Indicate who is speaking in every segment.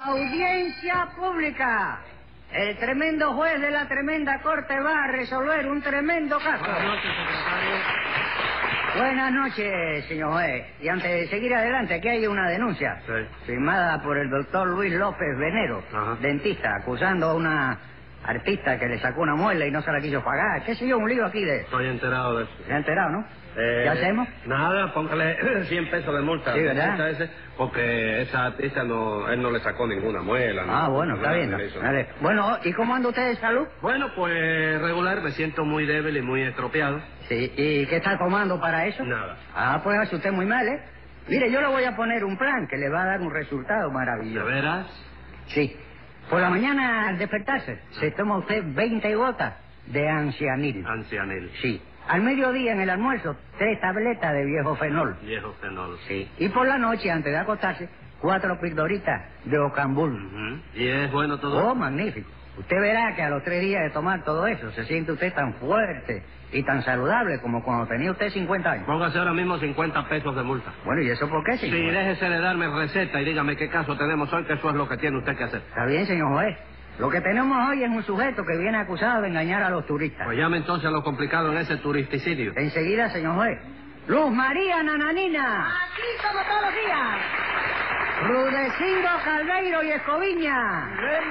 Speaker 1: Audiencia pública. El tremendo juez de la tremenda corte va a resolver un tremendo caso.
Speaker 2: Buenas noches, secretario.
Speaker 1: Buenas noches, señor juez. Y antes de seguir adelante, aquí hay una denuncia.
Speaker 2: Sí.
Speaker 1: Firmada por el doctor Luis López Venero,
Speaker 2: Ajá.
Speaker 1: dentista, acusando a una artista que le sacó una muela y no se la quiso pagar. ¿Qué sé yo? Un lío aquí de...
Speaker 2: Estoy enterado de eso.
Speaker 1: ¿Se ha enterado, no? ¿Qué hacemos?
Speaker 2: Nada, póngale 100 pesos de multa.
Speaker 1: Sí, ¿verdad?
Speaker 2: Multa ese, porque esa artista él no le sacó ninguna muela.
Speaker 1: Ah,
Speaker 2: no,
Speaker 1: bueno, está
Speaker 2: nada
Speaker 1: bien.
Speaker 2: de eso.
Speaker 1: Vale. Bueno, ¿y cómo anda usted de salud?
Speaker 2: Bueno, pues regular, me siento muy débil y muy estropeado.
Speaker 1: Sí. ¿Y qué está tomando para eso?
Speaker 2: Nada.
Speaker 1: Ah, pues hace usted muy mal, ¿eh? Mire, yo le voy a poner un plan que le va a dar un resultado
Speaker 2: ¿De
Speaker 1: maravilloso.
Speaker 2: veras?
Speaker 1: Sí. Por la mañana, al despertarse, se toma usted 20 gotas de ancianil.
Speaker 2: Ancianil.
Speaker 1: Sí. Al mediodía, en el almuerzo, 3 tabletas de viejo fenol.
Speaker 2: Viejo fenol.
Speaker 1: Sí. Y por la noche, antes de acostarse, 4 pildoritas de ocambul.
Speaker 2: Ujú. ¿Y es bueno todo?
Speaker 1: Oh, magnífico. Usted verá que a los 3 días de tomar todo eso, se siente usted tan fuerte y tan saludable como cuando tenía usted 50 años.
Speaker 2: Póngase ahora mismo 50 pesos de multa.
Speaker 1: Bueno, ¿y eso por qué, señor?
Speaker 2: Sí,
Speaker 1: juez?
Speaker 2: déjese de darme receta y dígame qué caso tenemos hoy, que eso es lo que tiene usted que hacer.
Speaker 1: Está bien, señor juez. Lo que tenemos hoy es un sujeto que viene acusado de engañar a los turistas.
Speaker 2: Pues llame entonces a lo complicado en ese turisticidio.
Speaker 1: Enseguida, señor juez. Luz María Nananina.
Speaker 3: Aquí como todos los días.
Speaker 1: Rudecindo Caldeiro y Escoviña.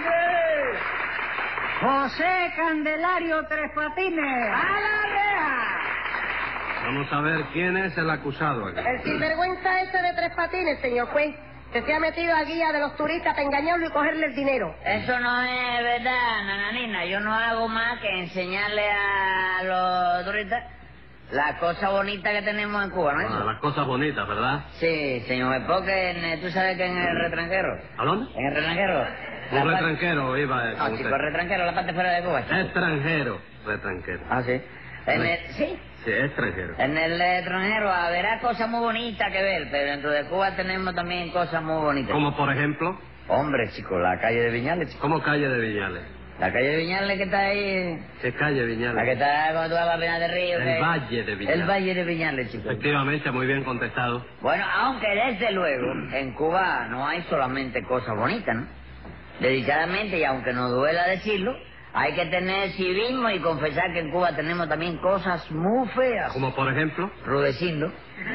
Speaker 1: José Candelario Tres Patines.
Speaker 3: ¡A la reja!
Speaker 2: Vamos a ver quién es el acusado aquí.
Speaker 3: El sinvergüenza ese de Tres Patines, señor juez, que se ha metido a guía de los turistas para engañarlo y cogerle el dinero.
Speaker 4: Eso no es verdad, nananina. Yo no hago más que enseñarle a los turistas las cosas bonitas que tenemos en Cuba, ¿no es eso?
Speaker 2: Las cosas bonitas, ¿verdad?
Speaker 4: Sí, señor, porque tú sabes que en el retranjero...
Speaker 2: ¿A dónde?
Speaker 4: En el retranjero...
Speaker 2: Un retranquero iba
Speaker 4: No,
Speaker 2: con
Speaker 4: chico,
Speaker 2: usted.
Speaker 4: el retranjero, la parte fuera de Cuba, chico.
Speaker 2: Extranjero. Retranquero.
Speaker 4: Ah, sí. Sí.
Speaker 2: Sí, extranjero.
Speaker 4: En el extranjero habrá cosas muy bonitas que ver, pero dentro de Cuba tenemos también cosas muy bonitas.
Speaker 2: Como por ejemplo,
Speaker 4: Hombre, chico, la calle de Viñales, chico.
Speaker 2: como calle de Viñales.
Speaker 4: La calle de Viñales que está ahí...
Speaker 2: ¿Qué calle
Speaker 4: La que
Speaker 2: Viñales?
Speaker 4: está cuando tú vas a Pinar del Río.
Speaker 2: El Valle de Viñales.
Speaker 4: El Valle de Viñales, chico.
Speaker 2: Efectivamente, muy bien contestado.
Speaker 4: Bueno, aunque desde luego en Cuba no hay solamente cosas bonitas, ¿no? Dedicadamente, y aunque nos duela decirlo, hay que tener civismo y confesar que en Cuba tenemos también cosas muy feas.
Speaker 2: Como por ejemplo,
Speaker 4: Rudecindo.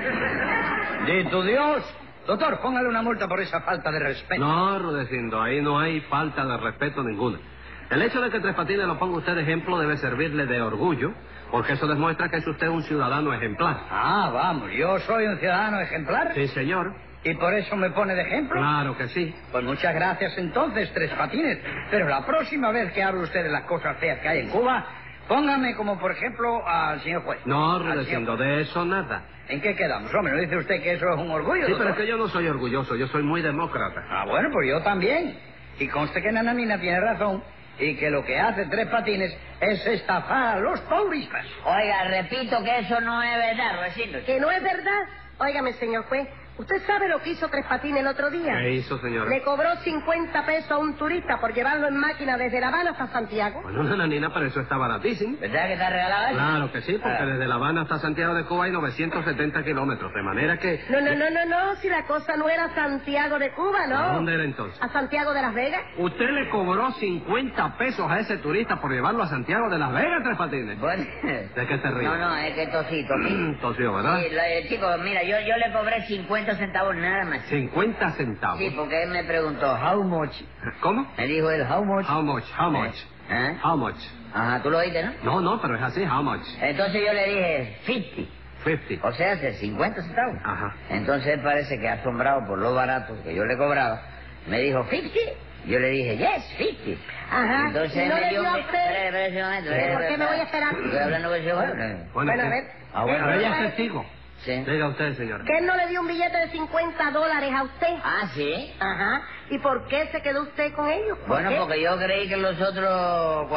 Speaker 1: ¡Dito Dios! Doctor, póngale una multa por esa falta de respeto.
Speaker 2: no, Rudecindo, ahí no hay falta de respeto ninguna. El hecho de que Tres Patines lo ponga usted de ejemplo debe servirle de orgullo, porque eso demuestra que es usted un ciudadano ejemplar.
Speaker 1: Ah, vamos, yo soy un ciudadano ejemplar.
Speaker 2: Sí, señor.
Speaker 1: ¿Y por eso me pone de ejemplo?
Speaker 2: Claro que sí.
Speaker 1: Pues muchas gracias entonces, Tres Patines. Pero la próxima vez que hable usted de las cosas feas que hay en Cuba, póngame como por ejemplo al señor juez.
Speaker 2: No,
Speaker 1: Al señor
Speaker 2: Rudecindo,
Speaker 1: juez.
Speaker 2: de eso nada.
Speaker 1: ¿En qué quedamos? Hombre, ¿no dice usted que eso es un orgullo?
Speaker 2: Sí, pero
Speaker 1: doctor?
Speaker 2: es que yo no soy orgulloso, yo soy muy demócrata.
Speaker 1: Ah, bueno, pues yo también. Y conste que Nananina tiene razón y que lo que hace Tres Patines es estafar a los turistas.
Speaker 4: Oiga, repito que eso no es verdad, Rudecindo.
Speaker 3: ¿Que no es verdad? Óigame, señor juez, ¿usted sabe lo que hizo Tres Patines el otro día?
Speaker 2: ¿Qué hizo, señora?
Speaker 3: Le cobró 50 pesos a un turista por llevarlo en máquina desde La Habana hasta Santiago.
Speaker 2: Bueno, nananina, pero eso está baratísimo.
Speaker 4: ¿Verdad que está regalado eso?
Speaker 2: Claro que sí, porque
Speaker 4: Ah.
Speaker 2: desde La Habana hasta Santiago de Cuba hay 970 kilómetros, de manera que...
Speaker 3: No, si la cosa no era Santiago de Cuba, ¿no?
Speaker 2: ¿A dónde era entonces?
Speaker 3: ¿A Santiago de Las Vegas?
Speaker 2: ¿Usted le cobró 50 pesos a ese turista por llevarlo a Santiago de Las Vegas, Tres Patines?
Speaker 4: Bueno...
Speaker 2: ¿De qué se ríe?
Speaker 4: No, es que tosí.
Speaker 2: Tosió, ¿verdad?
Speaker 4: Sí, chico, mira, yo le cobré 50 centavos nada más.
Speaker 2: 50 centavos.
Speaker 4: Sí, porque él me preguntó, how much?
Speaker 2: ¿Cómo?
Speaker 4: Me dijo él, how much?
Speaker 2: How much? How much?
Speaker 4: ¿Eh?
Speaker 2: How much?
Speaker 4: Ajá, tú lo oíste, ¿no?
Speaker 2: No, pero es así, how much?
Speaker 4: Entonces yo le dije, 50.
Speaker 2: 50.
Speaker 4: O sea, hace 50 centavos.
Speaker 2: Ajá.
Speaker 4: Entonces él parece que asombrado por lo barato que yo le cobraba, me dijo, 50. Yo le dije, yes, 50.
Speaker 3: Ajá.
Speaker 4: Entonces
Speaker 3: ¿Y
Speaker 4: él
Speaker 3: no
Speaker 4: me
Speaker 3: le
Speaker 4: dio
Speaker 3: dio a
Speaker 4: un...
Speaker 3: usted?
Speaker 4: Espera un momento.
Speaker 3: ¿Por qué me voy a esperar?
Speaker 4: Estoy hablando con el señor.
Speaker 2: Bueno,
Speaker 3: Bueno, a
Speaker 2: ¿qué?
Speaker 3: ver.
Speaker 4: Ah, bueno,
Speaker 2: Pero ella
Speaker 3: ¿verdad?
Speaker 2: es testigo.
Speaker 4: Sí.
Speaker 2: Diga usted, señora.
Speaker 3: ¿Que él no le dio un billete de $50 a usted?
Speaker 4: Ah, ¿sí?
Speaker 3: Ajá. ¿Y por qué se quedó usted con ellos? ¿Por
Speaker 4: Bueno,
Speaker 3: qué?
Speaker 4: porque yo creí que los otros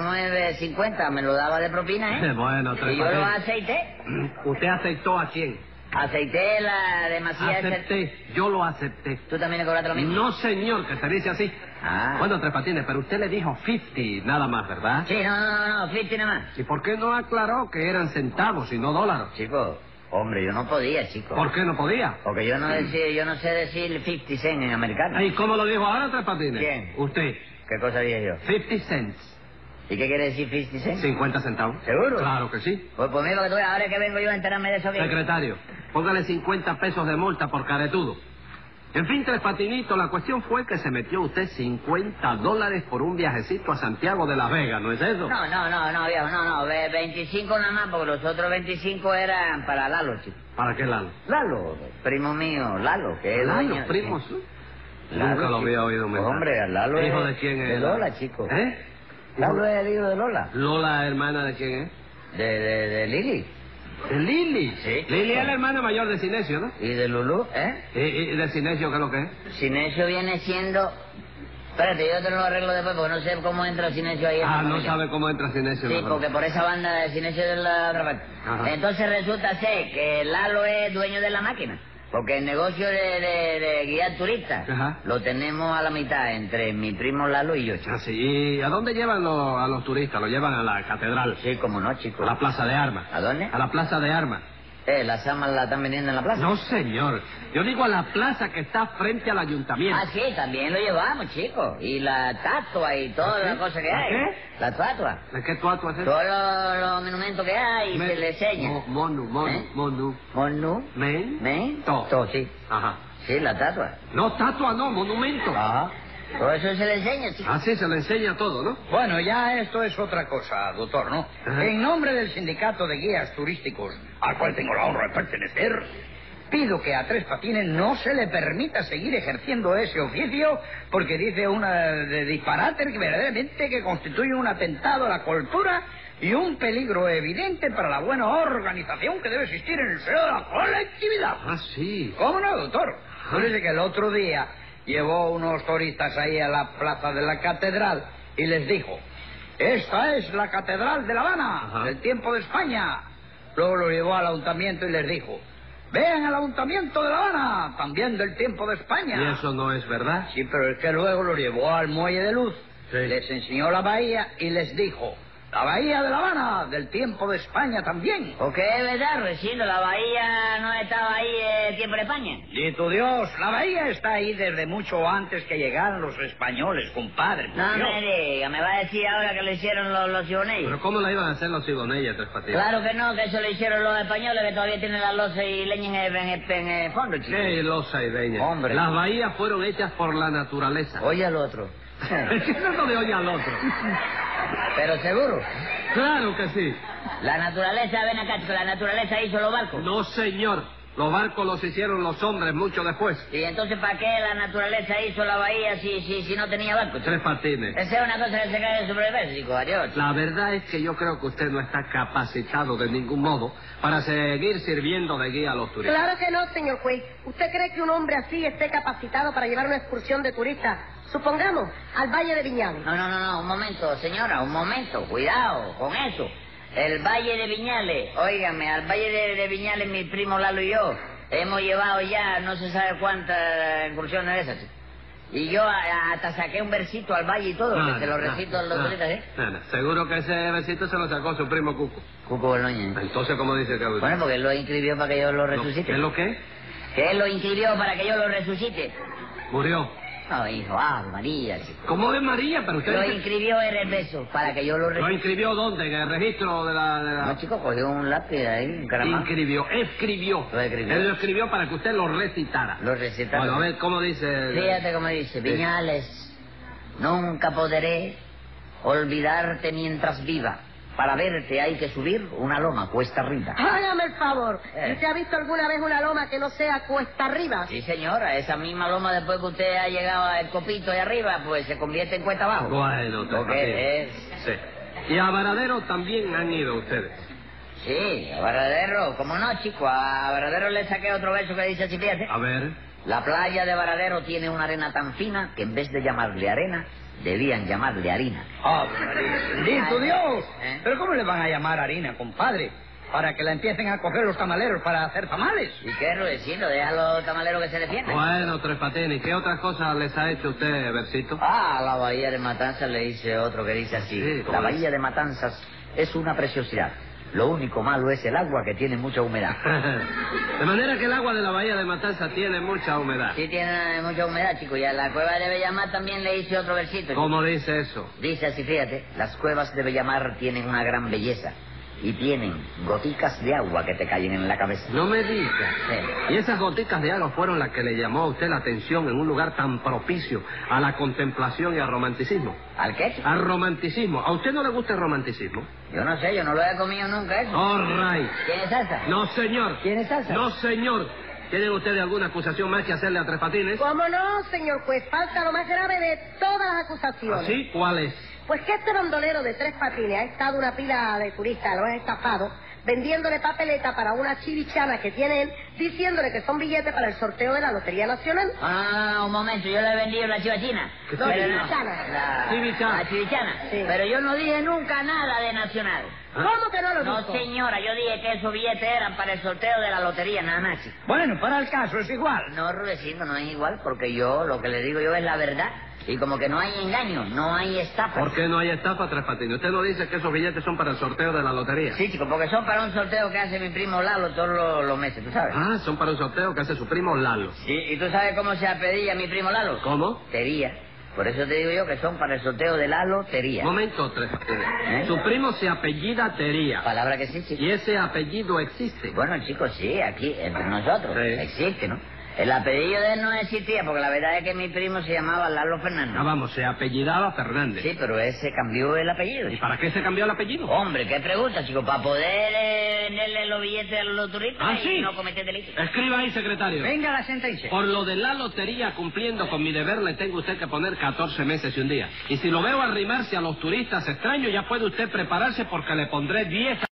Speaker 4: 49.50 me lo daba de propina, ¿eh?
Speaker 2: Bueno, Tres
Speaker 4: Y yo lo
Speaker 2: Patines.
Speaker 4: aceité.
Speaker 2: ¿Usted aceptó a quién?
Speaker 4: Aceité la demasiada...
Speaker 2: Acepté, yo lo acepté.
Speaker 4: ¿Tú también le cobraste lo mismo?
Speaker 2: No, señor, que se dice así.
Speaker 4: Ah.
Speaker 2: Bueno, Tres Patines, pero usted le dijo 50 nada más, ¿verdad?
Speaker 4: Sí, no, 50 nada más.
Speaker 2: ¿Y por qué no aclaró que eran centavos y no dólares?
Speaker 4: Chico, Hombre, yo no podía, chico.
Speaker 2: ¿Por qué no podía?
Speaker 4: Porque yo no sé decir 50 cents en americano.
Speaker 2: ¿Y cómo lo dijo ahora, Tres Patines?
Speaker 4: ¿Quién?
Speaker 2: Usted.
Speaker 4: ¿Qué cosa dije yo?
Speaker 2: 50 cents.
Speaker 4: ¿Y qué quiere decir 50 cents?
Speaker 2: 50 centavos.
Speaker 4: ¿Seguro?
Speaker 2: Claro que sí.
Speaker 4: Pues mira, que tú ahora que vengo yo a enterarme de eso que...
Speaker 2: Secretario, póngale 50 pesos de multa por caretudo. En fin, Tres Patinitos, la cuestión fue que se metió usted $50 por un viajecito a Santiago de Las Vegas, ¿no es eso?
Speaker 4: No, viejo, no. 25 nada más, porque los otros 25 eran para Lalo, chico.
Speaker 2: ¿Para qué Lalo?
Speaker 4: Lalo, primo mío, Lalo, que es
Speaker 2: Lalo,
Speaker 4: dueño...
Speaker 2: primo.
Speaker 4: Lalo,
Speaker 2: Nunca lo había oído
Speaker 4: pues,
Speaker 2: mencionar.
Speaker 4: hombre, Lalo
Speaker 2: ¿Hijo
Speaker 4: es...
Speaker 2: de quién es?
Speaker 4: De Lola, chico.
Speaker 2: ¿Eh?
Speaker 4: Lalo es el hijo de Lola.
Speaker 2: ¿Lola, hermana de quién es?
Speaker 4: De Lili.
Speaker 2: ¿De Lili?
Speaker 4: Sí.
Speaker 2: Lili es la hermana mayor de Sinesio, ¿no?
Speaker 4: ¿Y de Lulú, eh?
Speaker 2: ¿Y de Sinesio qué es lo que es?
Speaker 4: Sinesio viene siendo... Espérate, yo te lo arreglo después porque no sé cómo entra Sinesio ahí en la
Speaker 2: No
Speaker 4: familia.
Speaker 2: sabe cómo entra Sinesio.
Speaker 4: Sí,
Speaker 2: ¿no?
Speaker 4: porque por esa banda de Sinesio de la otra parte.
Speaker 2: Ajá.
Speaker 4: Entonces resulta ser que Lalo es dueño de la máquina. Porque el negocio de guiar turistas
Speaker 2: Ajá.
Speaker 4: lo tenemos a la mitad entre mi primo Lalo y yo, chico.
Speaker 2: Ah, sí. ¿Y a dónde llevan a los turistas? ¿Lo llevan a la catedral?
Speaker 4: Sí, como no, chico.
Speaker 2: ¿A la plaza de armas?
Speaker 4: ¿A dónde?
Speaker 2: A la plaza de armas.
Speaker 4: ¿Las armas las están vendiendo en la plaza?
Speaker 2: No, señor. Yo digo a la plaza que está frente al ayuntamiento.
Speaker 4: Ah, sí, también lo llevamos, chico. Y la tatua y toda
Speaker 2: ¿Ah, sí?
Speaker 4: la cosa que
Speaker 2: ¿Ah,
Speaker 4: hay.
Speaker 2: qué?
Speaker 4: La tatua.
Speaker 2: ¿De qué tú haces?
Speaker 4: Todos los monumentos que hay y se le enseña.
Speaker 2: Monu.
Speaker 4: Monu.
Speaker 2: Men.
Speaker 4: Todo, sí.
Speaker 2: Ajá.
Speaker 4: Sí, la tatua.
Speaker 2: No, tatua no, monumento.
Speaker 4: Ajá. Todo eso se le enseña, chico.
Speaker 2: Ah, sí, se le enseña todo, ¿no?
Speaker 1: Bueno, ya esto es otra cosa, doctor, ¿no?
Speaker 2: Ajá.
Speaker 1: En nombre del sindicato de guías turísticos, al cual tengo la honra de pertenecer, pido que a Tres Patines no se le permita seguir ejerciendo ese oficio porque dice una de disparate que verdaderamente que constituye un atentado a la cultura y un peligro evidente para la buena organización que debe existir en el seno de la colectividad.
Speaker 2: Ah, sí.
Speaker 1: ¿Cómo no, doctor? Parece que el otro día llevó unos turistas ahí a la plaza de la catedral y les dijo: esta es la catedral de La Habana,
Speaker 2: Ajá.
Speaker 1: del tiempo de España. Luego lo llevó al ayuntamiento y les dijo: vean el ayuntamiento de La Habana, también del tiempo de España.
Speaker 2: ¿Y eso no es verdad?
Speaker 1: Sí, pero es que luego lo llevó al muelle de Luz,
Speaker 2: Sí.
Speaker 1: les enseñó la bahía y les dijo: la bahía de La Habana, del tiempo de España también.
Speaker 4: Porque es verdad, Recindo, la bahía no estaba ahí el tiempo de España.
Speaker 1: Y tu Dios, la bahía está ahí desde mucho antes que llegaran los españoles, compadre. por
Speaker 4: No
Speaker 1: Dios.
Speaker 4: me diga, me va a decir ahora que lo hicieron los ciboneños.
Speaker 2: ¿Pero cómo la iban a hacer los cigonellas, Tres Patines?
Speaker 4: Claro que no, que eso lo hicieron los españoles que todavía tienen la loza y leña en el fondo, chico.
Speaker 2: ¡Qué losa y leña!
Speaker 4: Hombre.
Speaker 2: Las bahías fueron hechas por la naturaleza.
Speaker 4: Oye al otro.
Speaker 2: ¿Qué es eso de oye al otro?
Speaker 4: Pero seguro.
Speaker 2: ¡Claro que sí!
Speaker 4: La naturaleza, ven acá, chico, la naturaleza hizo los barcos.
Speaker 2: No, señor. Los barcos los hicieron los hombres mucho después.
Speaker 4: Y entonces, ¿para qué la naturaleza hizo la bahía si no tenía barcos?
Speaker 2: Tres Patines.
Speaker 4: Esa es una cosa que se cae sobre el verso, chico, adiós.
Speaker 2: La verdad es que yo creo que usted no está capacitado de ningún modo para seguir sirviendo de guía a los turistas.
Speaker 3: Claro que no, señor juez. ¿Usted cree que un hombre así esté capacitado para llevar una excursión de turistas, supongamos, al Valle de Viñales?
Speaker 4: No, un momento, señora, un momento, cuidado con eso. El Valle de Viñales, óigame, al Valle de Viñales mi primo Lalo y yo hemos llevado ya no se sabe cuántas incursiones de esas. Y yo hasta saqué un versito al Valle y todo, que se lo recito a los turistas, ¿eh?
Speaker 2: Seguro que ese besito se lo sacó su primo Cuco.
Speaker 4: Cuco Boloña.
Speaker 2: Entonces, ¿cómo dice que
Speaker 4: Bueno, porque él lo inscribió para que yo lo resucite.
Speaker 2: ¿Qué es lo que?
Speaker 4: Que él lo inscribió para que yo lo resucite.
Speaker 2: Murió.
Speaker 4: No, hijo, María, chico.
Speaker 2: ¿Cómo de María? Pero usted
Speaker 4: Lo
Speaker 2: dice-
Speaker 4: inscribió en el beso para que yo lo
Speaker 2: ¿Lo
Speaker 4: resucite.
Speaker 2: inscribió dónde? ¿En el registro de la...?
Speaker 4: No, chico, cogió un lápiz ahí, un caramán.
Speaker 2: Escribió.
Speaker 4: Lo escribió.
Speaker 2: Él lo escribió para que usted lo recitara.
Speaker 4: Lo recitaba.
Speaker 2: Bueno, a ver, ¿cómo dice?
Speaker 4: Fíjate cómo dice, Viñales, nunca podré olvidarte mientras viva. Para verte hay que subir una loma cuesta arriba.
Speaker 3: Hágame el favor. ¿Usted ha visto alguna vez una loma que no sea cuesta arriba?
Speaker 4: Sí, señora, esa misma loma después que usted ha llegado al copito de arriba, pues se convierte en cuesta abajo.
Speaker 2: Bueno, Tres
Speaker 4: Porque
Speaker 2: Patines. Sí. Y a Varadero también han ido ustedes.
Speaker 4: Sí, a Varadero, como no, chico, a Varadero le saqué otro verso que dice así, fíjate.
Speaker 2: A ver.
Speaker 4: La playa de Varadero tiene una arena tan fina que en vez de llamarle arena, debían llamarle harina.
Speaker 1: ¡Ave María! ¡Bendito Dios!
Speaker 4: ¿Eh?
Speaker 1: ¿Pero cómo le van a llamar harina, compadre? Para que la empiecen a coger los tamaleros para hacer tamales.
Speaker 4: ¿Y qué, Rudecindo? Deja a los tamaleros que se defiendan.
Speaker 2: Bueno, Tres Patines, ¿qué otras cosas les ha hecho usted, Versito?
Speaker 4: Ah, a la bahía de Matanzas le hice otro que dice así.
Speaker 2: Sí, ¿cómo
Speaker 4: La
Speaker 2: es?
Speaker 4: bahía de Matanzas es una preciosidad. Lo único malo es el agua, que tiene mucha humedad.
Speaker 2: De manera que el agua de la bahía de Matanza tiene mucha humedad.
Speaker 4: Sí, tiene mucha humedad, chico. Y a la cueva de Bellamar también le hice otro versito.
Speaker 2: ¿Cómo dice eso?
Speaker 4: Dice así, fíjate, las cuevas de Bellamar tienen una gran belleza y tienen goticas de agua que te caen en la cabeza.
Speaker 2: No me diga.
Speaker 4: Sí.
Speaker 2: Y esas goticas de agua fueron las que le llamó a usted la atención en un lugar tan propicio a la contemplación y al romanticismo.
Speaker 4: ¿Al qué, chico?
Speaker 2: Al romanticismo. ¿A usted no le gusta el romanticismo?
Speaker 4: Yo no sé, yo no lo he comido nunca eso.
Speaker 2: All right.
Speaker 4: ¿Quién es salsa?
Speaker 2: No, señor.
Speaker 4: ¿Quién es salsa?
Speaker 2: No, señor. ¿Tienen ustedes alguna acusación más que hacerle a Tres Patines?
Speaker 3: ¿Cómo no, señor juez? Falta lo más grave de todas las acusaciones.
Speaker 2: ¿Así? ¿Cuál es?
Speaker 3: Pues que este bandolero de Tres Patines ha estado una pila de turistas, lo han estafado, vendiéndole papeleta para una chivichana que tiene él, diciéndole que son billetes para el sorteo de la Lotería Nacional.
Speaker 4: Ah, un momento, yo le he vendido la chivachina.
Speaker 2: ¿Qué
Speaker 3: No,
Speaker 4: Pero
Speaker 3: chivichana.
Speaker 2: Chivichana.
Speaker 4: La chivichana.
Speaker 3: Sí.
Speaker 4: Pero yo no dije nunca nada de Nacional.
Speaker 3: ¿Cómo que no lo
Speaker 4: No,
Speaker 3: dijo?
Speaker 4: señora, yo dije que esos billetes eran para el sorteo de la lotería, nada más, chico.
Speaker 1: Bueno, para el caso es igual.
Speaker 4: No, Rudecindo, no es igual, porque yo lo que le digo yo es la verdad. Y como que no hay engaño, no hay estafa.
Speaker 2: ¿Por qué no hay estafa, Tres Patines? Usted no dice que esos billetes son para el sorteo de la lotería.
Speaker 4: Sí, chico, porque son para un sorteo que hace mi primo Lalo todos los meses, ¿tú sabes?
Speaker 2: Ah, son para un sorteo que hace su primo Lalo.
Speaker 4: Sí, ¿y tú sabes cómo se apellida mi primo Lalo?
Speaker 2: ¿Cómo?
Speaker 4: Tería. Por eso te digo yo que son para el sorteo de la lotería.
Speaker 2: Momento, Tres Patines.
Speaker 4: ¿Eh?
Speaker 2: Su primo se apellida Tería.
Speaker 4: Palabra que sí, chico.
Speaker 2: Y ese apellido existe.
Speaker 4: Bueno, chicos, sí, aquí, entre nosotros,
Speaker 2: Sí.
Speaker 4: existe, ¿no? El apellido de él no existía, porque la verdad es que mi primo se llamaba Lalo Fernández.
Speaker 2: Ah, vamos, se apellidaba Fernández.
Speaker 4: Sí, pero ese cambió el apellido.
Speaker 2: ¿Y para qué se cambió el apellido?
Speaker 4: Hombre, qué pregunta, chico, para poder venderle los billetes a los turistas
Speaker 2: Ah,
Speaker 4: y
Speaker 2: sí.
Speaker 4: no cometer delitos.
Speaker 2: Escriba ahí, secretario.
Speaker 1: Venga la sentencia.
Speaker 2: Por lo de la lotería, cumpliendo con mi deber, le tengo usted que poner 14 meses y un día. Y si lo veo arrimarse a los turistas extraños, ya puede usted prepararse porque le pondré 10